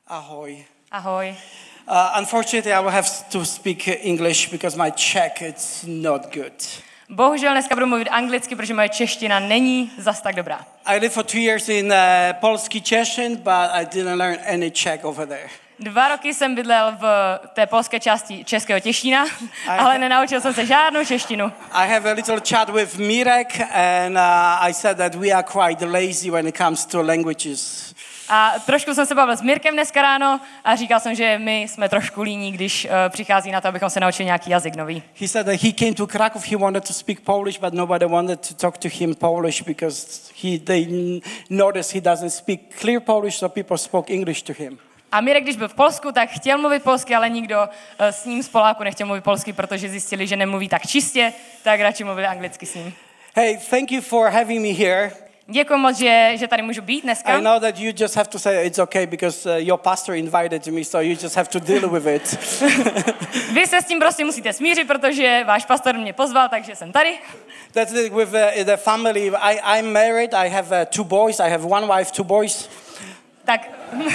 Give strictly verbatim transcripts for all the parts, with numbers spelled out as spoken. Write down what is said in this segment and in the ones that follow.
Ahoj. Ahoj. Uh, unfortunately, I will have to speak English because my Czech it's not good. Bohužel dneska budu mluvit anglicky, protože moje čeština není zas tak dobrá. I lived for two years in uh, Polski Cieszyn, but I didn't learn any Czech over there. Dva roky jsem bydlel v té polské části Českého Těšína, ale nenaučil jsem se žádnou češtinu. I have a little chat with Mirek, and uh, I said that we are quite lazy when it comes to languages. A trošku jsem se bavil s Mirkem dneska ráno a říkal jsem, že my jsme trošku líní, když uh, přichází na to, abychom se naučili nějaký jazyk nový. He said that he came to Krakow, he wanted to speak Polish, but nobody wanted to talk to him Polish because he they noticed he doesn't speak clear Polish, so people spoke English to him. A Mirek, když byl v Polsku, tak chtěl mluvit polsky, ale nikdo uh, s ním z Poláku nechtěl mluvit polsky, protože zjistili, že nemluví tak čistě, tak radši mluvili anglicky s ním. Hey, thank you for having me here. Děkuji moc, že, že tady můžu být dneska. I know that you just have to say it's okay because uh, your pastor invited me, so you just have to deal with it. Vy se s tím prostě musíte smířit, protože váš pastor mě pozval, takže jsem tady. That's it with uh, the family. I, I'm married. I have uh, two boys. I have one wife, two boys. Tak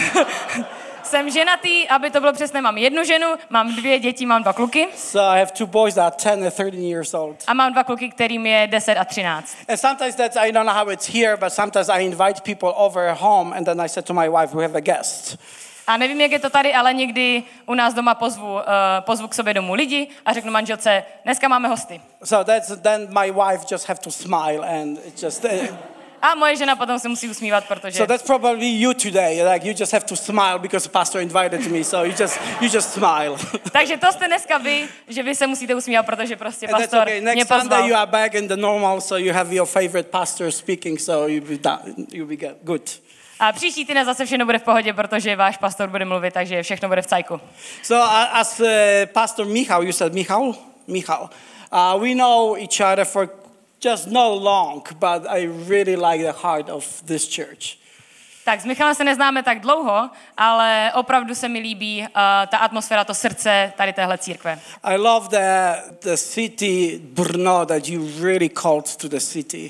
jsem ženatý, aby to bylo přesné, mám jednu ženu, mám dvě děti, mám dva kluky. So I have two boys that are ten and thirteen years old. A mám dva kluky, kterým je deset a třináct. And sometimes that's, I don't know how it's here, but sometimes I invite people over home and then I said to my wife, we have a guest. A nevím, jak je to tady, ale někdy u nás doma pozvu, uh, pozvu k sobě domů lidi a řeknu manželce, dneska máme hosty. So that's, then my wife just have to smile and it just... Uh, A moje žena potom se musí usmívat, protože... So that's probably you today. Like you just have to smile because the pastor invited me. So you just you just smile. Takže to jste dneska vy, že vy se musíte usmívat, protože prostě And pastor okay. Next mě pozval. Sunday you are back in the normal, so you have your favorite pastor speaking, so you'll be done, you'll be good. A příští týden zase všechno bude v pohodě, protože váš pastor bude mluvit, takže všechno bude v cajku. So uh, as uh, Pastor Michal, you said Michal, Michal, uh, we know each other for just not long, but I really like the heart of this church. Tak s Michalem se neznáme tak dlouho, ale opravdu se mi líbí uh, ta atmosféra, to srdce tady téhle církve. I love the the city Brno that you really called to the city.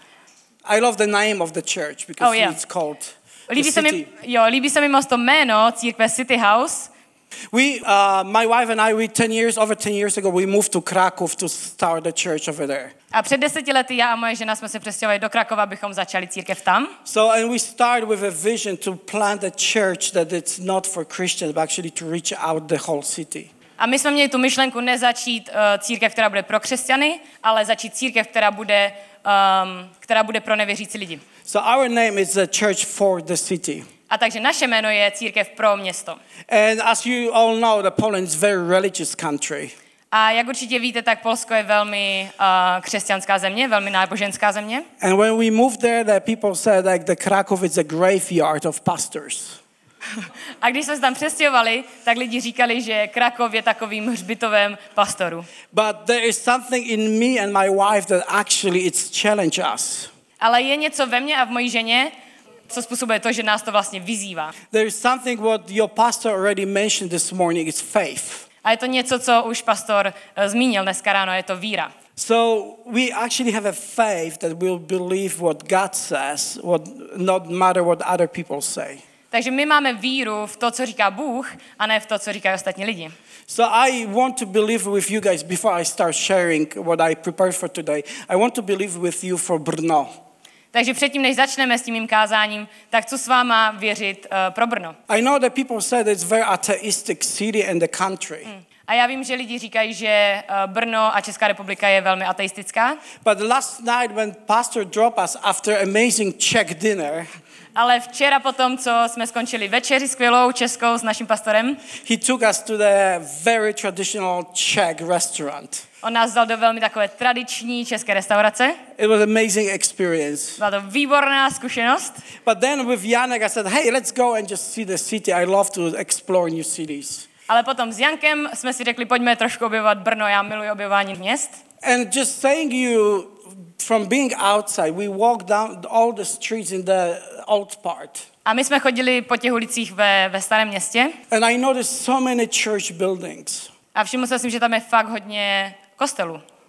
I love the name of the church because oh, yeah. it's called líbí the se city. mi, jo, líbí se mi moc to jméno církve City House. We, uh, my wife and I, we ten years, over ten years ago, we moved to Krakow to start the church over there. A před deseti lety já a moje žena jsme se přestěhovali do Krakova, abychom začali církev tam. So, and we started with a vision to plant a church that it's not for Christians, but actually to reach out the whole city. A my jsme měli tu myšlenku nezačít uh, církev, která bude pro křesťany, ale začít církev, která bude, um, která bude pro nevěřící lidi. So our name is a church for the city. A takže naše jméno je církev pro město. And as you all know, the Poland is a very religious country. A jak určitě víte, tak Polsko je velmi uh, křesťanská země, velmi náboženská země. And when we moved there, the people said like the Krakow is a graveyard of pastors. A když jsme se tam přestěhovali, tak lidi říkali, že Krakov je takovým hřbitovem pastorů. But there is something in me and my wife that actually it's challenge us. Ale je něco ve mně a v mojí ženě, co způsobuje to, že nás to vlastně vyzývá. There is something what your pastor already mentioned this morning, it's faith. A je to něco, co už pastor uh, zmínil dneska ráno, je to víra. So we actually have a faith that we'll believe what God says, what not matter what other people say. Takže my máme víru v to, co říká Bůh, a ne v to, co říkají ostatní lidi. So I want to believe with you guys before I start sharing what I prepared for today. I want to believe with you for Brno. Takže předtím, než začneme s tím mým kázáním, tak chci s váma věřit uh, pro Brno. I know that people said it's very atheistic city and the country. Hmm. A já vím, že lidi říkají, že uh, Brno a Česká republika je velmi ateistická. But last night when pastor dropped us after amazing Czech dinner, ale včera potom, co jsme skončili večeři skvělou českou s naším pastorem, he took us to the very traditional Czech restaurant. On nás dal do velmi takové tradiční české restaurace. It was an amazing experience. Byla to výborná zkušenost. But then with Janek I said, hey, let's go and just see the city. I love to explore new cities. Ale potom s Jankem jsme si řekli, pojďme trošku objevovat Brno, já miluji objevování měst. And just saying you, from being outside, we walked down all the streets in the old part. A my jsme chodili po těch ulicích ve, ve starém městě. And I noticed so many church buildings. A všiml jsem si, že tam je fakt hodně kostelů.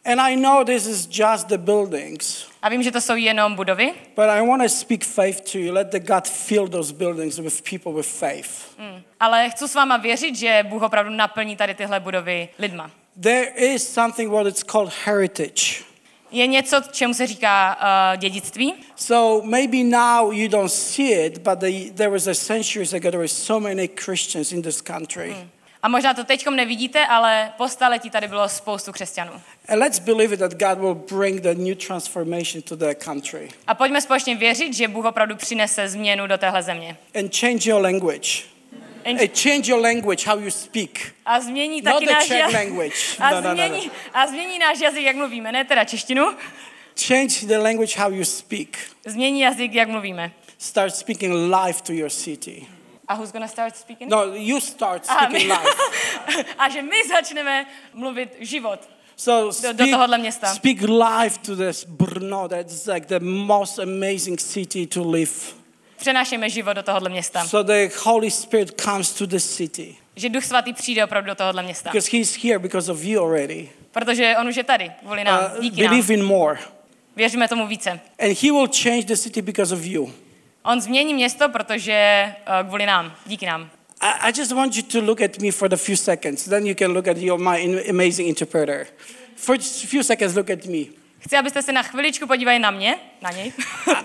And I know this is just the buildings, A vím, že to jsou jenom budovy, but I want to speak faith to you. Let the God fill those buildings with people with faith. mm. ale chci s váma věřit, že Bůh opravdu naplní tady tyhle budovy lidma. There is something what it's called heritage. Je něco, čemu se říká uh, dědictví. So maybe now you don't see it, but the, there was a centuries ago there were so many Christians in this country. Mm. A možná to teďkom nevidíte, ale po staletí tady bylo spoustu křesťanů. And let's believe it that God will bring the new transformation to their country. A pojďme společně věřit, že Bůh opravdu přinese změnu do téhle země. And change your language. And And change your language, how you speak. A změní Not taky the náš Czech jazyk. language. A, No, no, no, no. změní, a změní náš jazyk, jak mluvíme, ne teda češtinu. Change the language how you speak. Změní jazyk, jak mluvíme. Start speaking life to your city. A who's gonna start speaking? No, you start Aha, speaking my- life. A že my začneme mluvit život. So do speak, tohohle města. speak life to this Brno. That's like the most amazing city to live. Přenášíme život do tohohle města. So the Holy Spirit comes to the city. Že Duch Svatý přijde opravdu do tohohle města. Because he's here because of you already. Protože on už je tady, kvůli nám, Uh, díky nám. believe in more. Věříme tomu více. And he will change the city because of you. On změní město, protože uh, kvůli nám, díky nám. I, I just want you to look at me for the few seconds. Then you can look at your, my in- amazing interpreter. For just a few seconds, look at me. Chci, abyste se na chviličku podívali na mě, na něj.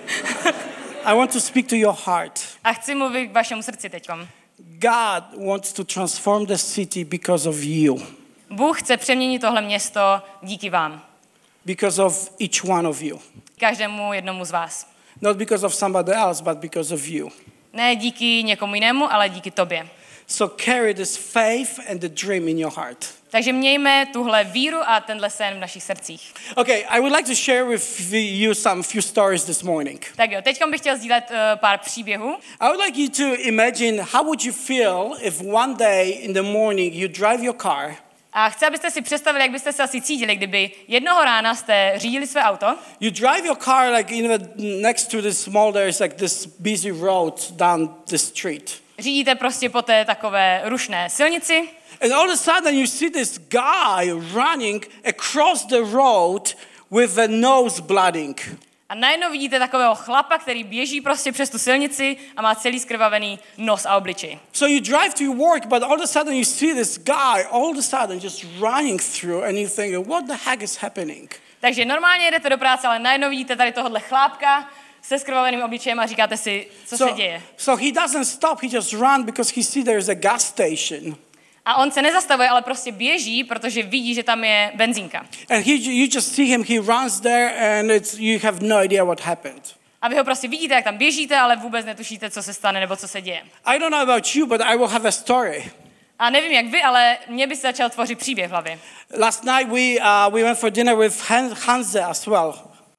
I want to speak to your heart. A chci mluvit k vašemu srdci teďkom. God wants to transform the city because of you. Bůh chce přeměnit tohle město díky vám. Because of each one of you. Každému jednomu z vás. Not because of somebody else, but because of you. Ne díky někomu jinému, ale díky tobě. So carry this faith and the dream in your heart. Takže mějme tuhle víru a tenhle sen v našich srdcích. Okay, I would like to share with you some few stories this morning. Tak jo, teďkom bych chtěl sdílet uh, pár příběhů. I would like you to imagine how would you feel if one day in the morning you drive your car. A chci, abyste si představili, jak byste se asi cítili, kdyby jednoho rána jste řídili své auto You drive your car like in the, next to this mall. There's like this busy road down the street, řídíte prostě po té takové rušné silnici and all of a sudden you see this guy running across the road with a nose blooding. a najednou vidíte takového chlapa, který běží prostě přes tu silnici a má celý skrvavený nos a obličej. So you drive to your work, but all of a sudden you see this guy all of a sudden just running through, and you think, what the heck is happening? Takže normálně jdete do práce, ale najednou vidíte tady tohohle chlápka se skrvaveným obličejem a říkáte si, co So, se děje. so he doesn't stop, he just runs because he sees there's a gas station. A on se nezastavuje, ale prostě běží, protože vidí, že tam je benzínka. And he, you just see him, he runs there, and it's, you have no idea what happened. A vy ho prostě vidíte, jak tam běžíte, ale vůbec netušíte, co se stane nebo co se děje. I don't know about you, but I will have a story. A nevím, jak vy, ale mě by se začal tvořit příběh v hlavě. Last night we, uh, we went for dinner with Han- Hanze as well.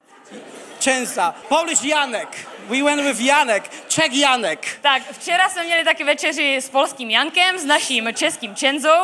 Czenza. Polish Janek. We went with Janek. Czech Janek. Tak včera jsme měli taky večeři s polským Jankem, s naším českým Čenzou.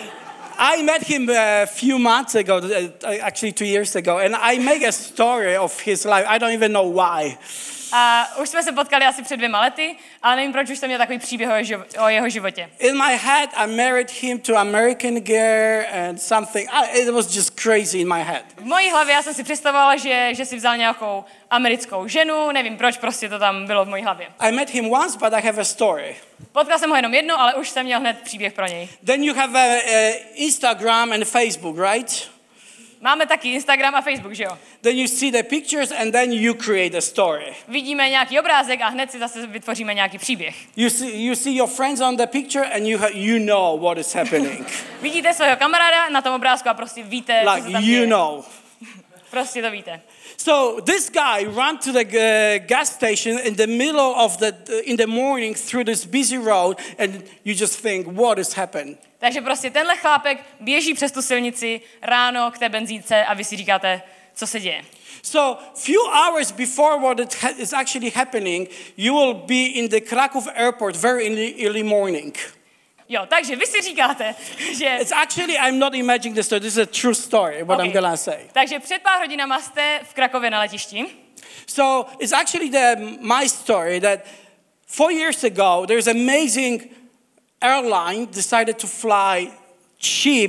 I met him a few months ago, uh, actually two years ago, and I make a story of his life. I don't even know why. A už jsme se potkali asi před dvěma lety, ale nevím, proč už jsem měl takový příběh o jeho, živ- o jeho životě. In my head, I married him to American girl and something. I, it was just crazy in my head. V mojí hlavě já jsem si představovala, že, že si vzal nějakou americkou ženu, nevím proč, prostě to tam bylo v mojí hlavě. I met him once, but I have a story. Potkal jsem ho jenom jednou, ale už jsem měl hned příběh pro něj. Then you have a, a Instagram and Facebook, right? Máme taky Instagram a Facebook, že jo? Then you see the pictures and then you create a story. Vidíme nějaký obrázek a hned si zase vytvoříme nějaký příběh. You see, you see your friends on the picture and you, ha- you know what is happening. Vidíte svého kamaráda na tom obrázku a prostě víte, co se Like tam you děje. know. Prostě to víte. So this guy ran to the uh, gas station in the middle of the in the morning through this busy road, and you just think, what has happened? Takže prostě tenhle chlápek běží přes tu silnici ráno k té benzínce a vy si říkáte, co se děje. So few hours before what it ha- is actually happening, you will be in the Krakow airport very early, early morning. Jo, takže vy si říkáte, že... It's actually, I'm not imagining this story. This is a true story, what Okay. I'm gonna say. Takže před pár hodinama jste v Krakově na letišti. So it's actually the, my story that four years ago, there's amazing airline decided to fly cheap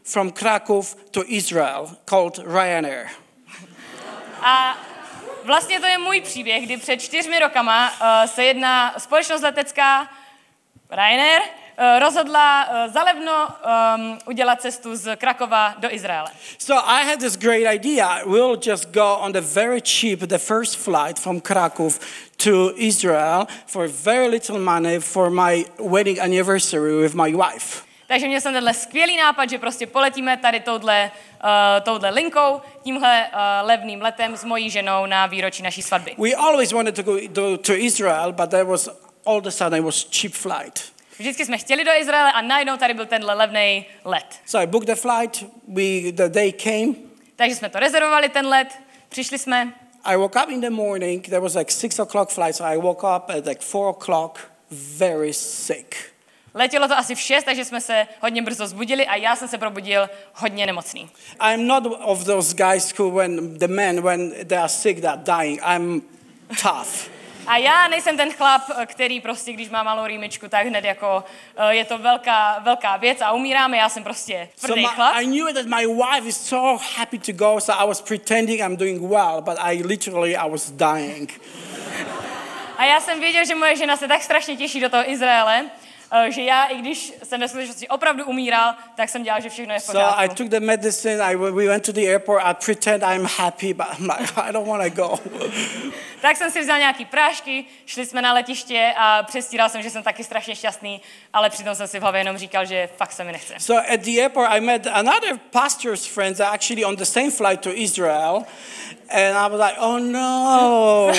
from Krakow to Israel called Ryanair. A vlastně to je můj příběh, kdy před čtyřmi rokama uh, se jedna společnost letecká Ryanair uh, rozhodla uh, zalevno um, udělat cestu z Krakova do Izraele. So I had this great idea. We'll just go on the very cheap, the first flight from Krakow to Israel for very little money for my wedding anniversary with my wife. Takže měl jsem tenhle skvělý nápad, že prostě poletíme tady touhle, uh, touhle linkou, tímhle uh, levným letem s mojí ženou na výročí naší svatby. We always wanted to go to, to Israel, but there was all of a sudden it was cheap flight. Vždycky jsme chtěli do Izraele a najednou tady byl tenhle levný let. So I booked the flight. We the day came. Takže jsme to rezervovali, ten let, přišli jsme. I woke up in the morning. There was like six o'clock flight, so I woke up at like four o'clock, very sick. Letělo to asi v šest, takže jsme se hodně brzo zbudili a já jsem se probudil hodně nemocný. I'm not of those guys who, when the men, when they are sick, they are dying. I'm tough. A já nejsem ten chlap, který prostě, když má malou rýmičku, tak hned jako je to velká, velká věc a umíráme, já jsem prostě tvrdý so my, chlap. I knew that my wife is so happy to go, so I was pretending I'm doing well, but I literally, I was dying. A já jsem věděl, že moje žena se tak strašně těší do toho Izraele, že já, i když jsem ve skutečnosti opravdu umíral, tak jsem dělal, že všechno je v pořádku. So I took the medicine, I, we went to the airport, I pretend I'm happy, but I'm like, I don't want to go. Tak jsem si vzal nějaký prášky, šli jsme na letiště a přestíral jsem, že jsem taky strašně šťastný, ale přitom jsem si v hlavě jenom říkal, že fakt se mi nechce. So at the airport, I met another pastor's friends that actually on the same flight to Israel, and I was like, oh no.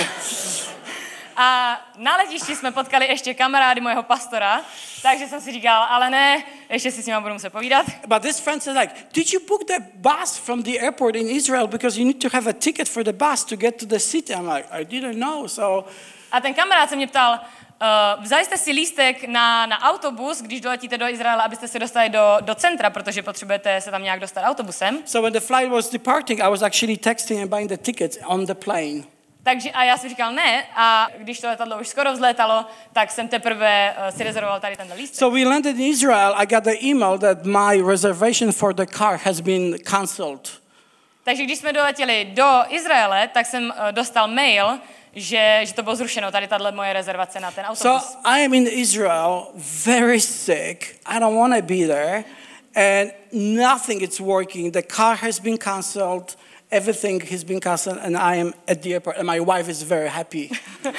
A na letišti jsme potkali ještě kamarády mojeho pastora, takže jsem si říkal, ale ne, ještě si s nima budu muset povídat. But this friend said like, did you book the bus from the airport in Israel because you need to have a ticket for the bus to get to the city? I'm like, I didn't know, so... A ten kamarád se mě ptal, uh, vzali jste si lístek na, na autobus, když doletíte do Izraela, abyste se dostali do, do centra, protože potřebujete se tam nějak dostat autobusem. So when the flight was departing, I was actually texting and buying the tickets on the plane. Takže a já jsem říkal ne a když to letadlo už skoro vzlétalo, tak jsem teprve uh, si rezervoval tady tenhle lístek. So we landed in Israel. I got the email that my reservation for the car has been cancelled. Takže když jsme doletěli do Izraele, tak jsem uh, dostal mail, že, že to bylo zrušeno, tady tahle moje rezervace na ten autobus. So I am in Israel, very sick. I don't want to be there. And nothing is working. The car has been cancelled. Everything has been cancelled and I am at the airport and my wife is very happy.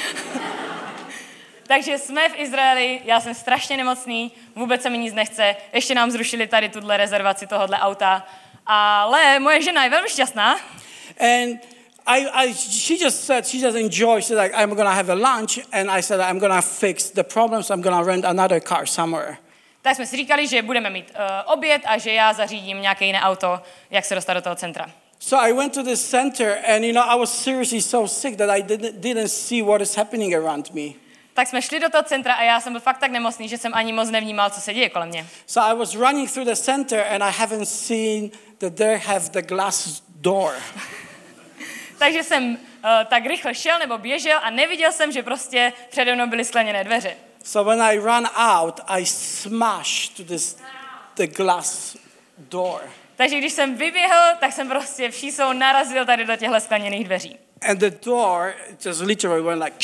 Takže jsme v Izraeli, já jsem strašně nemocný, vůbec se mi nic nechce, ještě nám zrušili tady tuhle rezervaci tohohle auta, ale moje žena je velmi šťastná. And I, I, she just said, she just enjoyed, she's like, I'm gonna have a lunch and I said, I'm gonna fix the problems, I'm gonna rent another car somewhere. Tak jsme si říkali, že budeme mít uh, oběd a že já zařídím nějaké jiné auto, jak se dostat do toho centra. So I went to this center and you know I was seriously so sick that I didn't, didn't see what is happening around me. Tak jsme šli do toho centra a já jsem byl fakt tak nemocný, že jsem ani moc nevnímal, co se děje kolem mě. So I was running through the center and I haven't seen that they have the glass door. Takže jsem uh, tak rychle šel nebo běžel a neviděl jsem, že prostě přede mnou byly skleněné dveře. So when I ran out, I smashed to this the glass door. Takže když jsem vyběhl, tak jsem prostě všísou narazil tady do těchto skleněných dveří. And the door just literally went like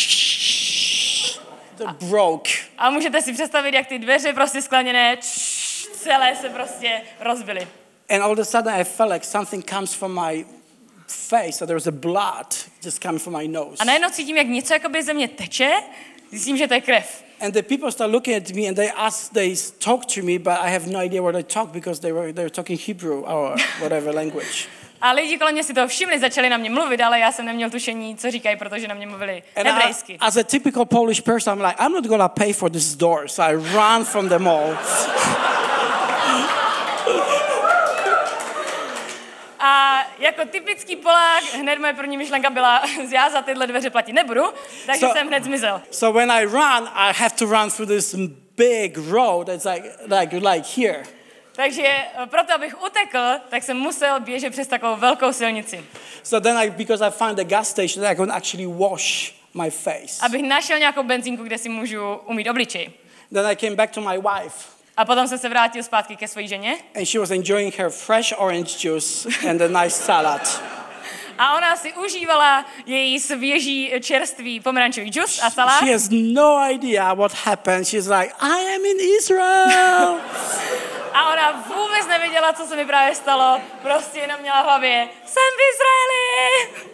it broke. A můžete si představit, jak ty dveře prostě skleněné celé se prostě rozbily. And all of a sudden I felt like something comes from my face, so there was a blood just coming from my nose. A najednou cítím, jak něco jakoby ze mě teče, zjistím, že to je krev. And the people start looking at me and they ask, they talk to me, but I have no idea what they talk because they were they were talking Hebrew or whatever language. A lidi kolem mě si toho všimli, začali na mě mluvit, ale já jsem neměl tušení, co říkají, protože na mě mluvili hebrejsky. As a typical Polish person, I'm like, I'm not gonna pay for this door, so I ran from the mall. A jako typický Polák, hned moje první myšlenka byla, já za tyhle dveře platit nebudu, takže So- jsem hned zmizel. So when I run, I have to run through this big road. It's like like like here. Takže eh, proto, abych utekl, tak jsem musel běžet přes takovou velkou silnici. So then I, because I found the gas station, I could actually wash my face. Abych našel nějakou benzínku, kde si můžu umýt obličej. Then I came back to my wife. A potom jsem se vrátil zpátky ke své ženě. And she was enjoying her fresh orange juice and a nice salad. A ona si užívala její svěží čerstvý pomerančový džus a salát. She has no idea what happened. She's like, I am in Israel. A ona vůbec nevěděla, co se mi právě stalo. Prostě jenom měla v hlavě, jsem v Izraeli.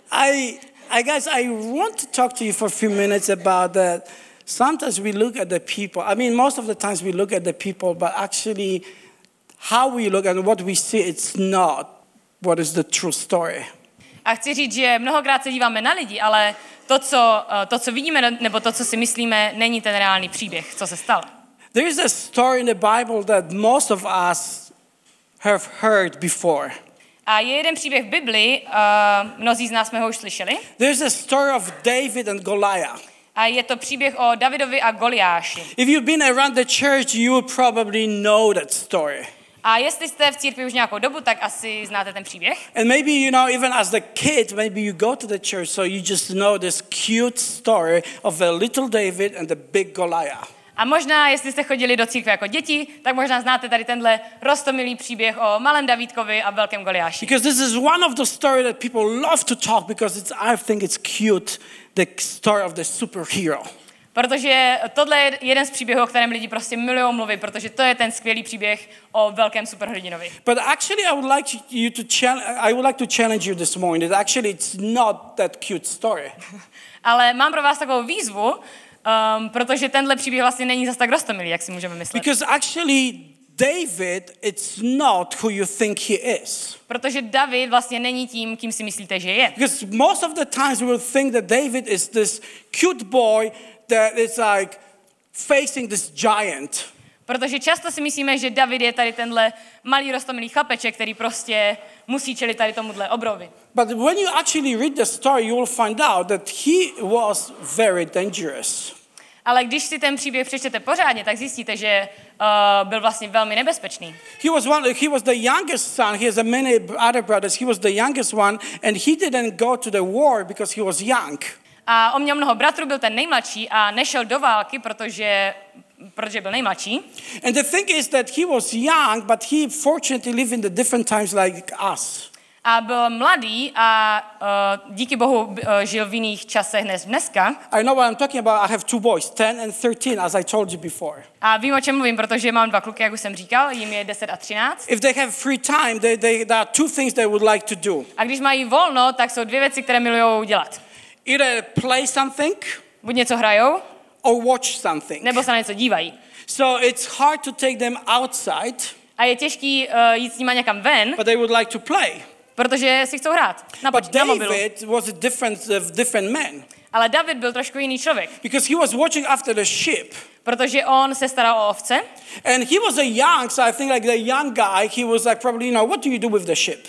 I, I guess I want to talk to you for a few minutes about that. Sometimes we look at the people. I mean, most of the times we look at the people, but actually how we look and what we see, it's not what is the true story. A chci říct, že mnohokrát se díváme na lidi, ale to, co, to, co vidíme, nebo to, co si myslíme, není ten reálný příběh, co se stalo. There is a story in the Bible that most of us have heard before. A je jeden příběh v Biblii, uh, mnozí z nás jsme ho už slyšeli. There's a story of David and Goliath. A je to příběh o Davidovi a Goliáši. If you've been around the church, you will probably know that story. A jestli jste v církvi už nějakou dobu, tak asi znáte ten příběh. And maybe, you know, even as a kid, maybe you go to the church, so you just know this cute story of a little David and the big Goliath. A možná, jestli jste chodili do církve jako děti, tak možná znáte tady tenhle roztomilý příběh o malém Davídkovi a velkém Goliáši. Because this is one of the stories that people love to talk because it's, I think it's cute, the story of the superhero. Protože tohle je jeden z příběhů, o kterém lidi prostě milují mluvit, protože to je ten skvělý příběh o velkém superhrdinovi. But actually, I would like you to challenge. I would like to challenge you this morning that actually it's not that cute story. Ale mám pro vás takovou výzvu, um, protože tenhle příběh vlastně není zas tak roztomilý, jak si můžeme myslet. Because actually, David, it's not who you think he is. Protože David vlastně není tím, kým si myslíte, že je. Because most of the times we will think that David is this cute boy that is like facing this giant. Protože často si myslíme, že David je tady tenhle malý roztomilý chlapeček, který prostě musí čelit tady tomuhle obrovi. But when you actually read the story, you will find out that he was very dangerous. Ale když si ten příběh přečtete pořádně, tak zjistíte, že uh, byl vlastně velmi nebezpečný. He was one. He was the youngest son. He has a many other brothers. He was the youngest one, and he didn't go to the war because he was young. A on měl mnoho bratrů, byl ten nejmladší a nešel do války, protože, protože byl nejmladší. And the thing is that he was young, but he fortunately lived in the different times like us. A byl mladý a uh, díky Bohu uh, žil v jiných časech než dneska. I know what I'm talking about. I have two boys, ten and thirteen, as I told you before. A vím, o čem mluvím, protože mám dva kluky, jak už jsem říkal, jim je deset a třináct. If they have free time, they, they, there are two things they would like to do. A když mají volno, tak jsou dvě věci, které milujou dělat. Either play something Buď něco hrajou, or watch something. nebo se na něco dívají. So it's hard to take them outside, A je těžký uh, jít s nima někam ven, but they would like to play. protože si chcou hrát na, But poč- na mobilu. David was a different, uh, different man Ale David byl trošku jiný člověk, because he was watching after the sheep. protože on se staral o ovce. And he was a young, so I think like the young guy, he was like probably, you know, what do you do with the sheep?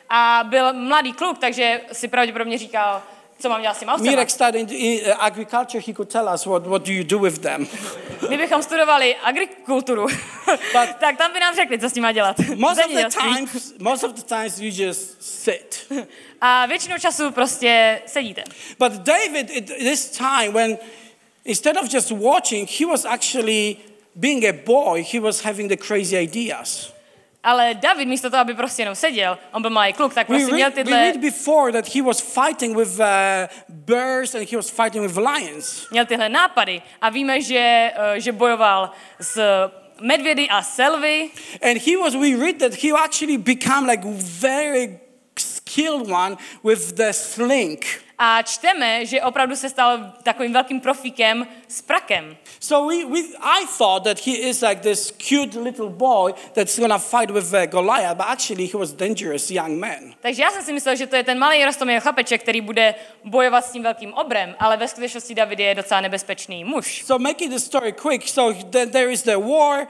A byl mladý kluk, takže si pravděpodobně říkal, co mám dělat s těma ovcema. Mirek studied in uh, agriculture, he could tell us what, what do you do with them. Kdybychom studovali agrikulturu, But- tak tam by nám řekli, co s tím má dělat. Most of the Zemědělství. times, most of the times you just sit. A většinou času prostě sedíte. But David, at this time, when instead of just watching, he was actually being a boy, he was having the crazy ideas. Ale David místo toho, aby prostě jenom seděl, on byl malý kluk, tak We prostě měl read, we tyhle, read before that he was fighting with uh, bears and he was fighting with lions. měl tyhle nápady. A víme, že, eh, že bojoval s medvědy a selvy. And he was, we read that he actually became like very skilled one with the sling. A čteme, že opravdu se stal takovým velkým profíkem s prakem. So we, we, I thought that he is like this cute little boy that's gonna fight with uh, Goliath, but actually he was a dangerous young man. Takže já jsem si myslel, že to je ten malý roztomilý chlapeček, který bude bojovat s tím velkým obrem, ale ve skutečnosti David je docela nebezpečný muž. So making the story quick, so then there is the war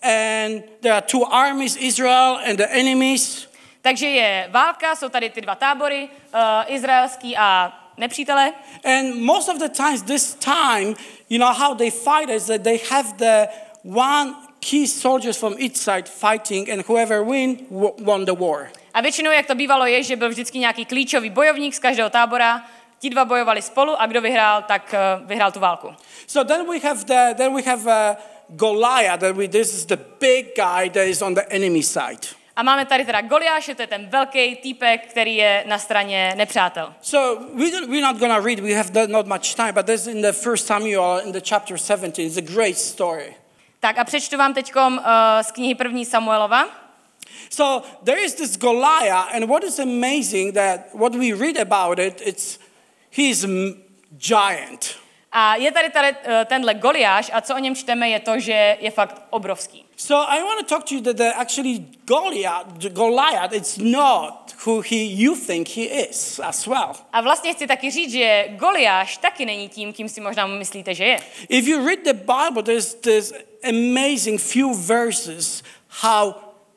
and there are two armies, Israel and the enemies. Takže je válka, jsou tady ty dva tábory, uh, izraelský a nepřítele. And most of the times, this time, you know how they fight is that they have the one key soldiers from each side fighting, and whoever win w- won the war. A většinou, jak to bývalo, je, že byl vždycky nějaký klíčový bojovník z každého tábora, ti dva bojovali spolu a kdo vyhrál, tak uh, vyhrál tu válku. So then we have the then we have uh, Goliath, that we, this is the big guy that is on the enemy side. A máme tady teda Goliáše, to je ten velký týpek, který je na straně nepřátel. So we don't, we're not going to read, we have not much time, but this in the first Samuel, in the chapter seventeen, it's a great story. Tak a přečtu vám teďkom uh, z knihy první Samuelova. So there is this Goliath, and what is amazing that what we read about it, it's he's a giant. A je tady, tady uh, tenhle Goliáš a co o něm čteme je to, že je fakt obrovský. So I want to talk to you that the, actually Goliath, Goliath, it's not who he you think he is as well. A vlastně chci taky říct, že Goliáš taky není tím, kým si možná myslíte, že je. If you read the Bible, there's this amazing few verses how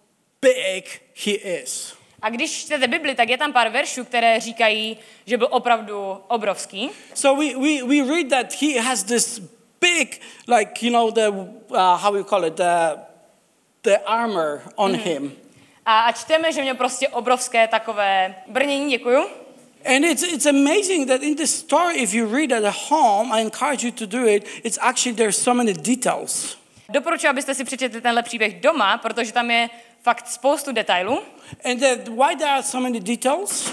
big he is. A když čtete Bibli, tak je tam pár veršů, které říkají, že byl opravdu obrovský. So we, we, we read that he has this big, like, you know, the, uh, how we call it, the, the armor on mm-hmm. him. A, a čteme, že měl prostě obrovské takové brnění, děkuju. And it's, it's amazing that in this story, if you read at home, I encourage you to do it, it's actually, there's so many details. Doporučuji, abyste si přečetli tenhle příběh doma, protože tam je fakt spoustu detailů. And that, why there are so many details?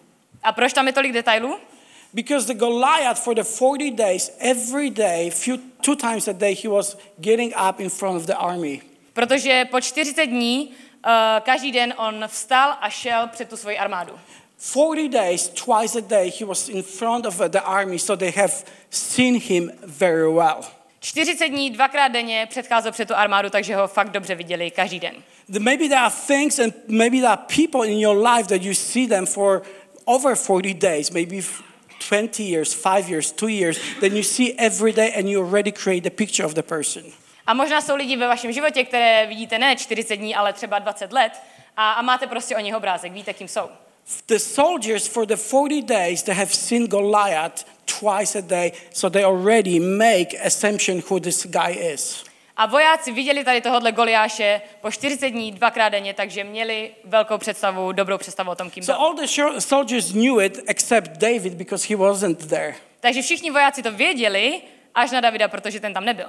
A proč tam je tolik detailů? Because the Goliath for the forty days, every day, few, two times a day, he was getting up in front of the army. Protože po čtyřicet dní uh, každý den on vstal a šel před tu svoji armádu. forty days, twice a day, he was in front of the army, so they have seen him very well. čtyřicet dní, dvakrát denně předcházel před tu armádu, takže ho fakt dobře viděli každý den. Maybe there are things and maybe there are people in your life that you see them for over forty days, maybe twenty years, five years, two years, then you see every day and you already create a picture of the person. A možná jsou lidi ve vašem životě, které vidíte ne čtyřicet dní, ale třeba dvacet let a, a máte prostě o nich obrázek, víte, kým jsou. The soldiers for the forty days, they have seen Goliath twice a day, so they already make assumption who this guy is. A vojáci viděli tady tohohle Goliáše po čtyřicet dní, dvakrát denně, takže měli velkou představu, dobrou představu o tom, kým byl. So all the soldiers knew it except David because he wasn't there. Takže všichni vojáci to věděli, až na Davida, protože ten tam nebyl.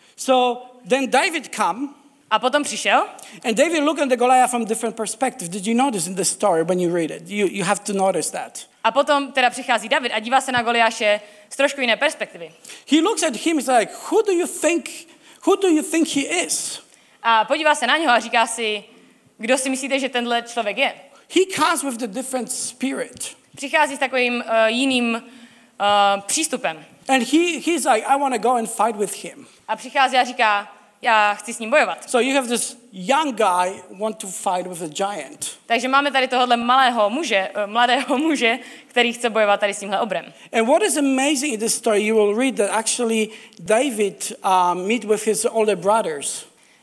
So then David come. A potom přišel. And David looked at the Goliath from different perspective. Did you notice in the story when you read it? You, you have to notice that. A potom teda přichází David a dívá se na Goliáše z trošku jiné perspektivy. He looks at him, he's like, who do you think, who do you think he is? A podívá se na něho a říká si, kdo si myslíte, že tenhle člověk je? He comes with a different spirit. Přichází s takovým uh, jiným uh, přístupem. And he, he's like, I want to go and fight with him. A přichází a říká, já chci s ním bojovat. So you have this young guy want to fight with a giant. Takže máme tady tohohle malého muže, uh, mladého muže, který chce bojovat tady s tímhle obrem. And what is amazing in this story, you will read that actually David uh, meet with his older brothers.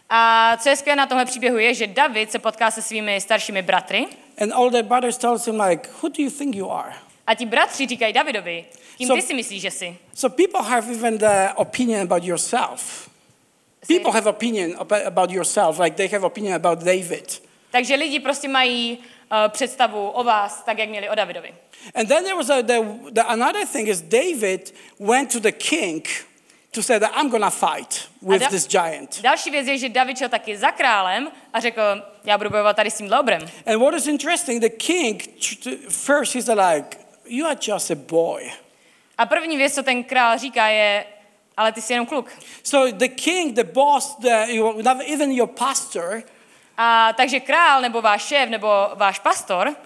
A co je skvělé na tomhle příběhu je, že David se potká se svými staršími bratry. And older brothers tells him like, who do you think you are? A ti bratři říkají Davidovi, kým So- ty si myslíš, že jsi? So people have even the opinion about yourself. People have opinion ab- about yourself, like they have opinion about David. Takže lidi prostě mají uh, představu o vás, tak jak měli o Davidovi. And then there was a, the, the, another thing is David went to the king to say that I'm gonna fight with da- this giant. Další věc je, že David šel taky za králem a řekl, já budu bojovat tady s tímhle obrem. And what is interesting, the king first he's like, you are just a boy. A první věc, co ten král říká, je, ale ty jsi jenom kluk. So the king, the boss, the, you- even your pastor A takže král nebo váš šéf nebo váš pastor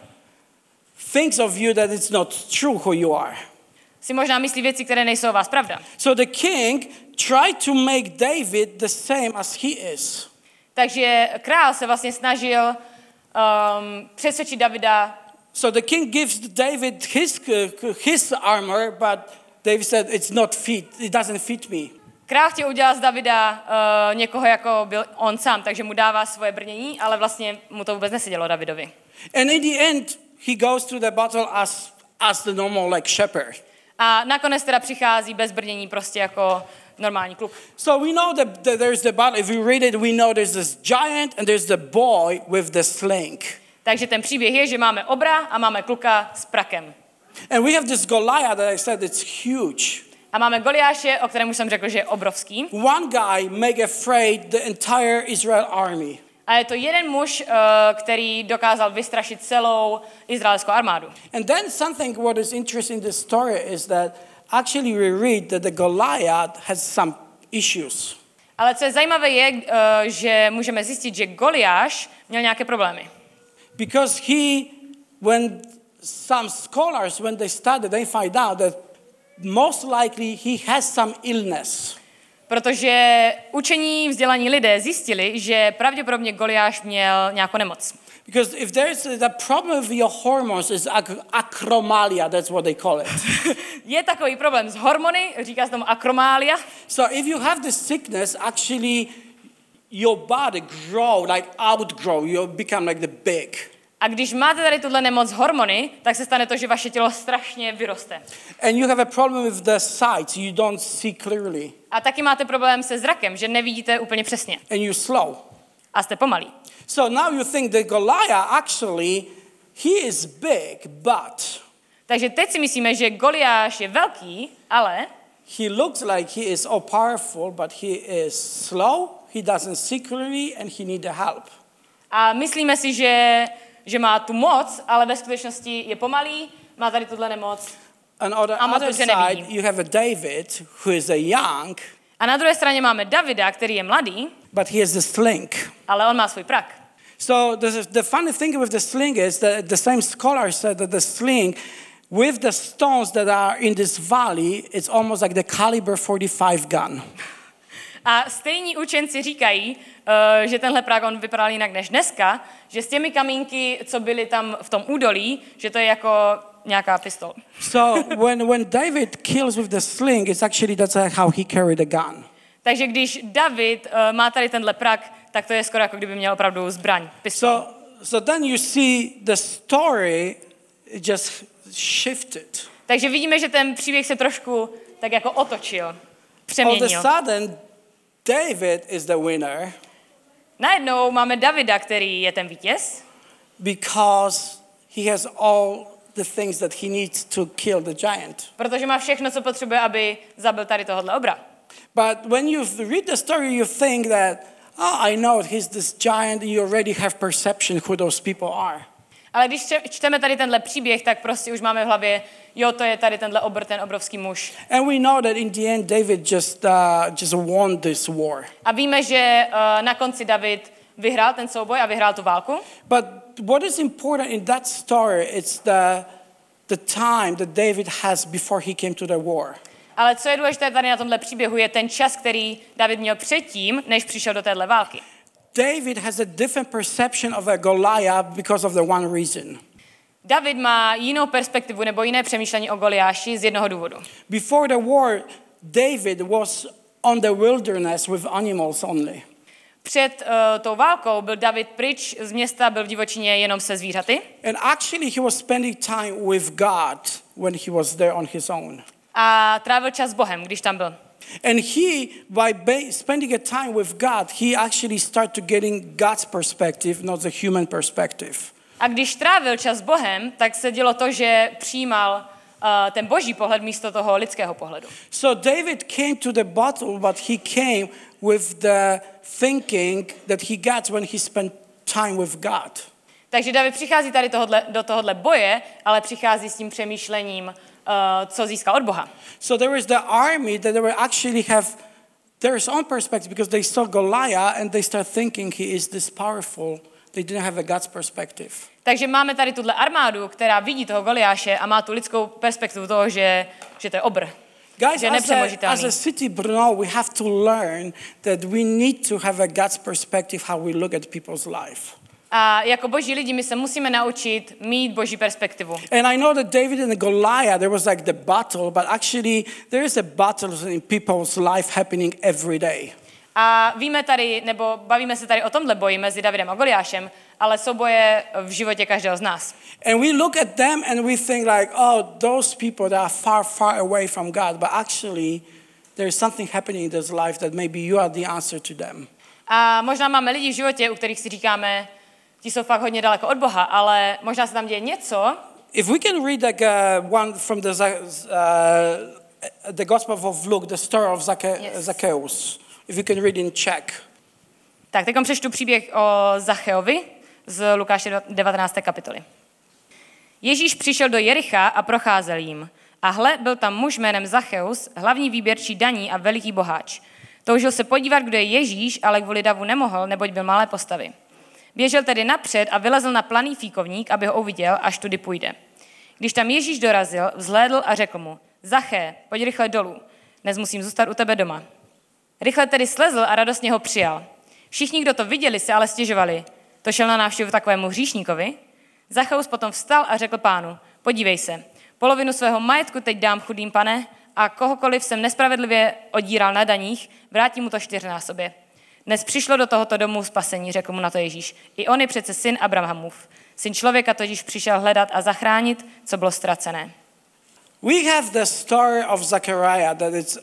thinks of you that it's not true who you are. si možná myslí věci, které nejsou o vás pravda. So the king tried to make David the same as he is. Takže král se vlastně snažil um, přesvědčit Davida. So the king gives David his, uh, his armor, but David said, it's not fit, it doesn't fit me. Král chtěl udělat z Davida uh, někoho, jako byl on sám, takže mu dává svoje brnění, ale vlastně mu to vůbec nesedělo Davidovi. And in the end, he goes through the battle as, as the normal like shepherd. A nakonec teda přichází bez brnění prostě jako normální kluk. So we know that, that there's the battle. If we read it, we know there's this giant and there's the boy with the sling. Takže ten příběh je, že máme obra a máme kluka s prakem. And we have this Goliath that I said it's huge. A máme Goliáše, o kterém už jsem řekl, že je obrovský. One guy make afraid the entire Israel army. A je to jeden muž, který dokázal vystrašit celou izraelskou armádu. And then something what is interesting in this story is that actually we read that the Goliath has some issues. Ale co je zajímavé je, že můžeme zjistit, že Goliáš měl nějaké problémy. Because he, when some scholars, when they studied, they find out that most likely he has some illness. Protože učení vzdělaní lidé zjistili, že pravděpodobně Goliáš měl nějakou nemoc. Because if there's the problem with your hormones is ac- acromegalia, that's what they call it. Je takový problém s hormony, říká se tomu akromália. So if you have this sickness, actually your body grow, like outgrow, you become like the big. A když máte tady tuhle nemoc hormony, tak se stane to, že vaše tělo strašně vyroste. And you have a problem with the sight, you don't see clearly. A taky máte problém se zrakem, že nevidíte úplně přesně. And you're slow. A jste pomalí. So now you think that Goliath actually, he is big, but Takže teď si myslíme, že Goliáš je velký, ale he looks like he is all powerful, but he is slow, he doesn't see clearly, and he needs the help. a myslíme si, že, že má tu moc, ale ve skutečnosti je pomalý, má tady tuhle nemoc. And on the A moc other dobře side, nevidí. you have a David, who is a young, A na druhé straně máme Davida, který je mladý, but he has the sling. ale on má svůj prak. So the, the funny thing with the sling is that the same scholar said that the sling, with the stones that are in this valley, it's almost like the caliber forty-five gun. A stejní učenci říkají, uh, že tenhle prak on vypadal jinak než dneska, že s těmi kamínky, co byly tam v tom údolí, že to je jako nějaká pistol. So when, when David kills with the sling, it's actually that's how he carried the gun. Takže když David uh, má tady tenhle prak, tak to je skoro jako kdyby měl opravdu zbraň, pistol. So, so then you see the story just shifted. Takže vidíme, že ten příběh se trošku tak jako otočil, All of přeměnil. a sudden, David is the winner Najednou máme Davida, který je ten vítěz, because he has all the things that he needs to kill the giant. protože má všechno, co potřebuje, aby zabil tady tohohle obra. But when you read the story, you think that, oh, I know he's this giant, you already have perception who those people are. Ale když čteme tady tenhle příběh, tak prostě už máme v hlavě, jo, to je tady tenhle obr, ten obrovský muž. And we know that in the end, David just, uh, just won this war. A víme, že uh, na konci David vyhrál ten souboj a vyhrál tu válku. But what is important in that story is the, the time that David has before he came to the war. Ale co je důležité tady na tomhle příběhu, je ten čas, který David měl předtím, než přišel do téhle války. David has a different perception of a Goliath because of the one reason. David má jinou perspektivu nebo jiné přemýšlení o Goliáši z jednoho důvodu. Before the war, David was on the wilderness with animals only. Před uh, tou válkou byl David pryč z města, byl v divočině jenom se zvířaty. And actually he was spending time with God when he was there on his own. A trávil čas s Bohem, když tam byl. And he, by ba- spending a time with God, he actually started to getting God's perspective, not the human perspective. A když trávil čas s Bohem, tak se dělo to, že přijímal uh, ten boží pohled místo toho lidského pohledu. So David came to the battle, but he came with the thinking that he got when he spent time with God. Takže David přichází tady tohodle, do tohohle boje, ale přichází s tím přemýšlením, uh, co získal od Boha. So there was the army that they were actually have their own perspective because they saw Goliath and they start thinking he is this powerful. They didn't have a God's perspective. Takže máme tady tuhle armádu, která vidí toho Goliáše a má tu lidskou perspektivu toho, že, že to je obr. Guys, že je as a, nepřemožitelný. as a city Brno, we have to learn that we need to have a God's perspective how we look at people's life. A jako boží lidi my se musíme naučit mít boží perspektivu. And I know that David and Goliath, there was like the battle, but actually there is a battle in people's life happening every day. A víme tady, nebo bavíme se tady o tomhle boji mezi Davidem a Goliášem, ale jsou boje v životě každého z nás. And we look at them and we think like, oh, those people that are far, far away from God, but actually there is something happening in this life that maybe you are the answer to them. A možná máme lidi v životě, u kterých si říkáme, ti jsou fakt hodně daleko od Boha, ale možná se tam děje něco. If we can read like uh, one from the uh, the Gospel of Luke, the story of Zacche- Yes. Zacchaeus. If you can read in Czech. Tak, teď přečtu příběh o Zacheovi z Lukáše devatenácté kapitoly. Ježíš přišel do Jericha a procházel jím. A hle, byl tam muž jménem Zacheus, hlavní výběrčí daní a veliký boháč. Toužil se podívat, kdo je Ježíš, ale kvůli davu nemohl, neboť byl malé postavy. Běžel tedy napřed a vylezl na planý fíkovník, aby ho uviděl, až tudy půjde. Když tam Ježíš dorazil, vzhlédl a řekl mu, Zaché, pojď rychle dolů, dnes musím zůstat u tebe doma. Rychle tedy slezl a radostně ho přijal. Všichni, kdo to viděli, se ale stěžovali. To šel na návštěvu takovému hříšníkovi? Zacheus potom vstal a řekl pánu, podívej se, polovinu svého majetku teď dám chudým, pane, a kohokoliv jsem nespravedlivě odíral na daních, vrátím mu to čtyřnásobě. Dnes přišlo do tohoto domu spasení, řekl mu na to Ježíš. I on je přece syn Abrahamův. Syn člověka totiž přišel hledat a zachránit, co bylo ztracené. We have the story of Zechariah that is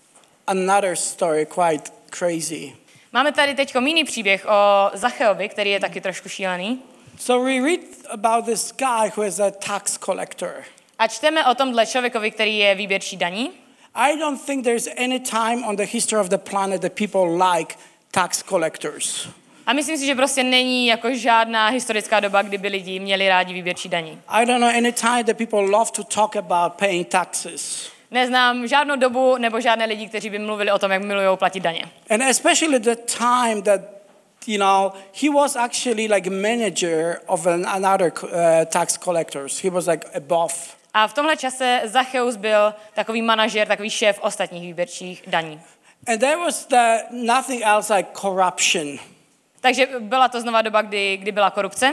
another story quite crazy. Máme tady teď jiný příběh o Zacheovi, který je taky trošku šílený. So we read about this guy who is a tax collector. A čteme o tomhle člověkovi, který je výběrčí daní. I don't think there's any time on the history of the planet that people like tax collectors. A myslím si, že prostě není jako žádná historická doba, kdyby lidi měli rádi výběrčí daní. I don't know any time that people love to talk about paying taxes. Neznám žádnou dobu nebo žádné lidi, kteří by mluvili o tom, jak milují platit daně. And especially the time that, you know, he was actually like manager of an, another uh, tax collectors. He was like above. A v tomhle čase Zacheus byl takový manažer, takový šéf ostatních výběrčích daní. And there was the, nothing else like corruption. Takže byla to znova doba, kdy, kdy byla korupce.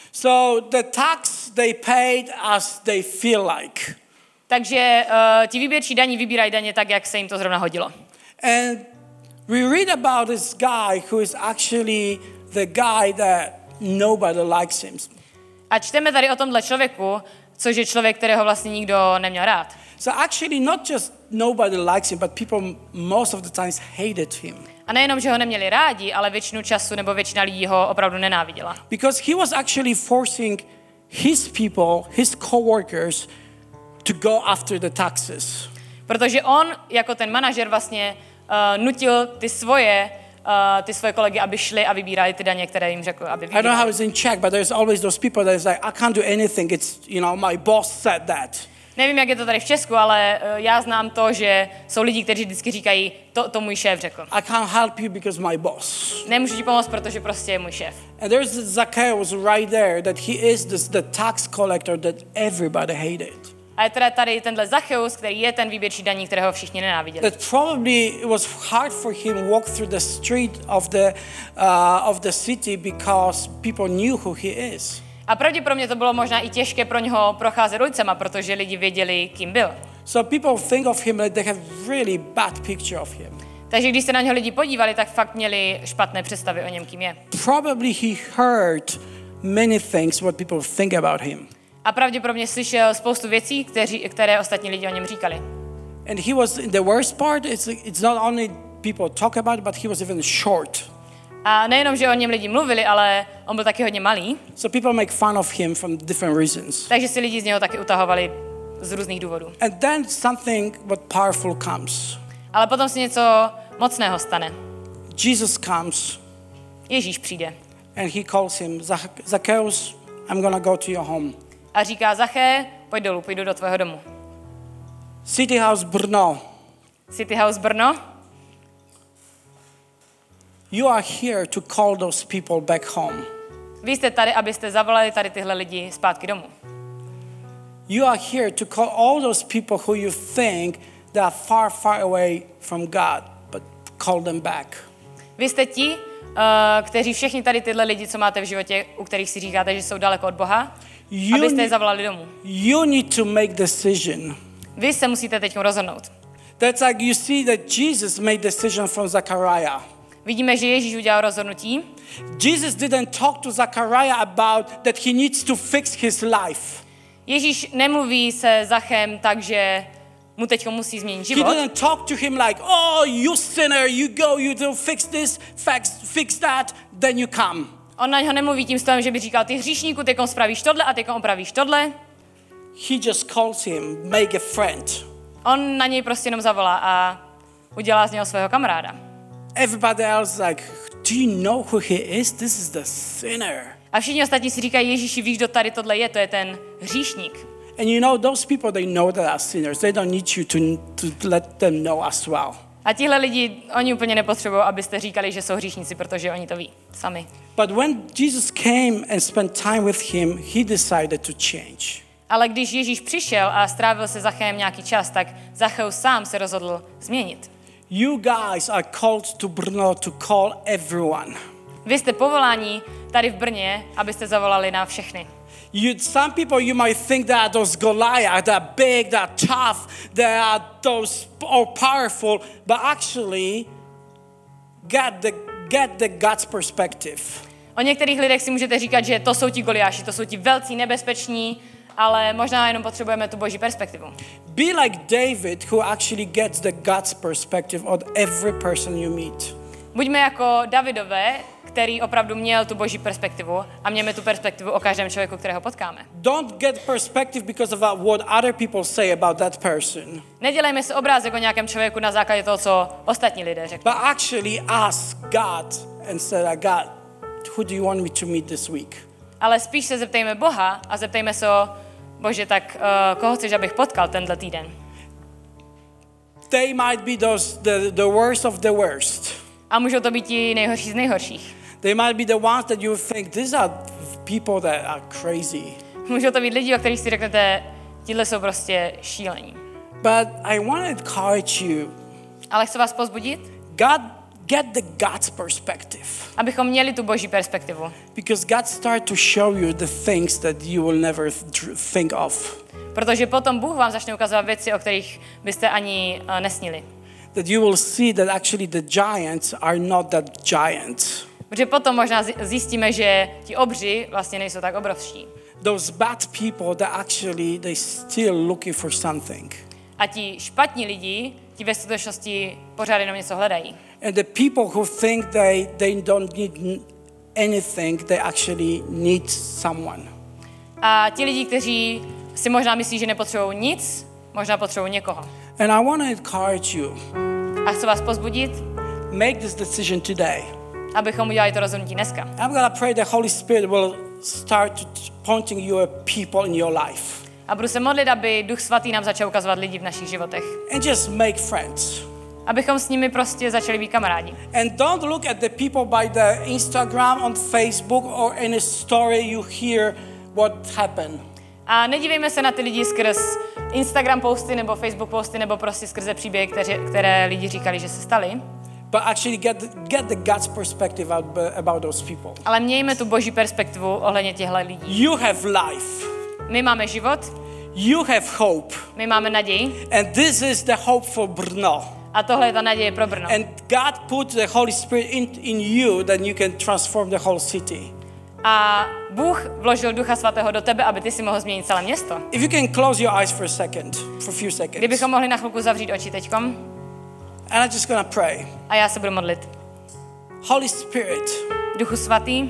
So the tax they paid as they feel like. Takže uh, ti výběrčí daní vybírají daně tak, jak se jim to zrovna hodilo. And we read about this guy who is actually the guy that nobody likes him. A čteme tady o tomhle člověku, což je člověk, kterého vlastně nikdo neměl rád. So actually not just nobody likes him, but people most of the times hated him. A nejenom, že ho neměli rádi, ale většinu času nebo většina lidí ho opravdu nenáviděla. Because he was actually forcing his people, his coworkers, to go after the taxes. Protože on, jako ten manažer, vlastně uh, nutil ty svoje, uh, ty svoje kolegy, aby šli a vybírali ty daně, které jim řekl, aby I don't know vybírali. how it's in Czech, but there's always those people that is like, I can't do anything. It's, you know, my boss said that. Nevím, jak je to tady v Česku, ale uh, já znám to, že jsou lidi, kteří vždycky říkají, to, to můj šéf řekl. I can't help you because my boss. Nemůžu ti pomoct, protože prostě je můj šéf. And there's Zacchaeus right there that he is this, the tax collector that everybody hated. A je teda tady tenhle Zacheus, který je ten výběrčí daní, kterého všichni nenáviděli. That probably it was hard for him walk through the street of the uh, of the city because people knew who he is. A pravděpodobně to bylo možná i těžké pro něho procházet ulicema, protože lidi věděli, kým byl. So people think of him like they have really bad picture of him. Takže když se na něho lidi podívali, tak fakt měli špatné představy o něm, kým je. Probably he heard many things what people think about him. A pravděpodobně slyšel spoustu věcí, kteří, které ostatní lidi o něm říkali. And he was the worst part. It's it's not only people talk about it, but he was even short. A nejenom, že o něm lidi mluvili, ale on byl taky hodně malý, So people make fun of him from different reasons. takže si lidi z něho taky utahovali z různých důvodů. And then something what powerful comes. Ale potom si něco mocného stane. Jesus comes Ježíš přijde and he calls him, "Zac- Zacchaeus, I'm gonna go to your home. a říká, Zaché, pojď dolů, půjdu do tvého domu. City House Brno, City House Brno, you are here to call those people back home. vy jste tady, abyste zavolali tady tyhle lidi zpátky domů. You are here to call all those people who you think they are far, far away from God, but call them back. Vy jste ti, uh, kteří všichni tady tyhle lidi, co máte v životě, u kterých si říkáte, že jsou daleko od Boha, You abyste je need, zavolali domů. you need to make decision. Vy se musíte teď rozhodnout. That's like you see that Jesus made decision from Zechariah. Vidíme, že Ježíš udělal rozhodnutí. Jesus didn't talk to Zechariah about that he needs to fix his life. Ježíš nemluví se Zachem tak, že mu teď musí změnit He život. didn't talk to him like, oh, you sinner, you go, you do fix this, fix, fix that, then you come. On na něho nemluví tím stylem, že by říkal, ty hříšníku, tykom spravíš tohle a tykom opravíš tohle. He just calls him, make a friend. on na něj prostě jenom zavolá a udělá z něho svého kamaráda. Everybody else like, do you know who he is? This is the sinner. A všichni ostatní si říkají, Ježíši, víš, kdo tady tohle je, to je ten hříšník. And you know, those people, they know that are sinners. They don't need you to, to let them know as well. A tihle lidi, oni úplně nepotřebují, abyste říkali, že jsou hříšníci, protože oni to ví sami. But when Jesus came and spent time with him, he decided to change. Ale když Ježíš přišel a strávil se Zachem nějaký čas, tak Zacheus sám se rozhodl změnit. You guys are called to Brno to call everyone. Vy jste povoláni tady v Brně, abyste zavolali na všechny. You, some people you might think that are those Goliath, they're big, they're tough, they are those all powerful, but actually get the get the God's perspective. O některých lidech si můžete říkat, že to jsou ti Goliáši, to jsou ti velcí, nebezpeční, ale možná jenom potřebujeme tu boží perspektivu. Be like David, who actually gets the God's perspective on every person you meet. Buďme jako Davidové, který opravdu měl tu boží perspektivu a mějme tu perspektivu o každém člověku, kterého potkáme. Don't get perspective because of what other people say about that person. Nedělejme si obrázek o nějakém člověku na základě toho, co ostatní lidé řeknou. But actually ask God and say, God, who do you want me to meet this week? Ale spíš se zeptejme Boha a zeptejme se, Bože, tak uh, koho chceš, abych potkal tenhle týden? They might be those the, the worst of the worst. A můžou to být ti nejhorší z nejhorších. They might be the ones that you think these are people that are crazy. Můžou to být lidi, o kterých si řeknete, tihle jsou prostě šílení. But I want to encourage you. Ale chci vás povzbudit, God, get the God's perspective. abychom měli tu boží perspektivu. Because God start to show you the things that you will never th- think of. Protože potom Bůh vám začne ukazovat věci, o kterých byste ani uh, nesnili. That you will see that actually the giants are not that giants. Protože potom možná zjistíme, že ti obři vlastně nejsou tak obrovští. Those bad people that actually they still looking for something. A ti špatní lidi, ti ve skutečnosti pořád jenom něco hledají. And the people who think they, they don't need anything, they actually need someone. A ti lidi, kteří si možná myslí, že nepotřebují nic, možná potřebují někoho. And I want to encourage you. A chci vás pozbudit, Make this decision today. abychom udělali to rozhodnutí dneska. I'm going to pray the Holy Spirit will start pointing you at people in your life. A budu se modlit, aby Duch Svatý nám začal ukazovat lidi v našich životech. And just make friends. Abychom s nimi prostě začali být kamarádi. And don't look at the people by the Instagram, on Facebook, or any story you hear what happened. A nedívejme se na ty lidi skrz Instagram posty nebo Facebook posty nebo prostě skrze příběhy, které, které lidi říkali, že se staly. But actually get the, get the God's perspective out, about those people. Ale mějme tu boží perspektivu ohledně těchto lidí. You have life. My máme život, You have hope. my máme naději And this is the hope for Brno. a tohle je ta naděje pro Brno. And God put the Holy Spirit in, in you that you can transform the whole city. A Bůh vložil Ducha Svatého do tebe, aby ty si mohl změnit celé město. If you can close your eyes for a second, for a few seconds. Kdybychom mohli na chvilku zavřít oči teďkom And I'm just gonna pray. a já se budu modlit. Holy Spirit, Duchu Svatý,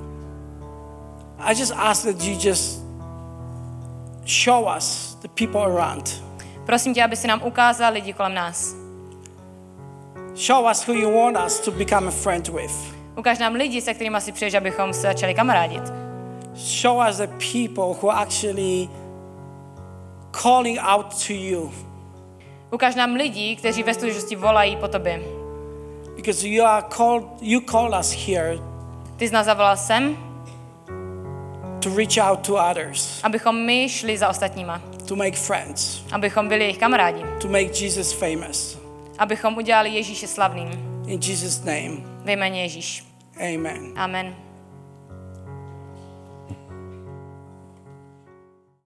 I just ask that you just show us the people around. prosím tě, aby si nám ukázal lidi kolem nás. Show us who you want us to become a friend with. Ukáž nám lidi, se kterými si přeješ, abychom se začali kamarádit. Show us the people who are actually calling out to you. Ukáž nám lidi, kteří ve skutečnosti volají po tobě. Because you are called, you called us here Ty jsi nás zavolal sem, to reach out to others, abychom my šli za ostatníma. to make friends, Abychom byli jejich kamarádi. to make Jesus famous. Abychom udělali Ježíše slavným. In Jesus' name, Ve jméně Ježíš. amen. Amen.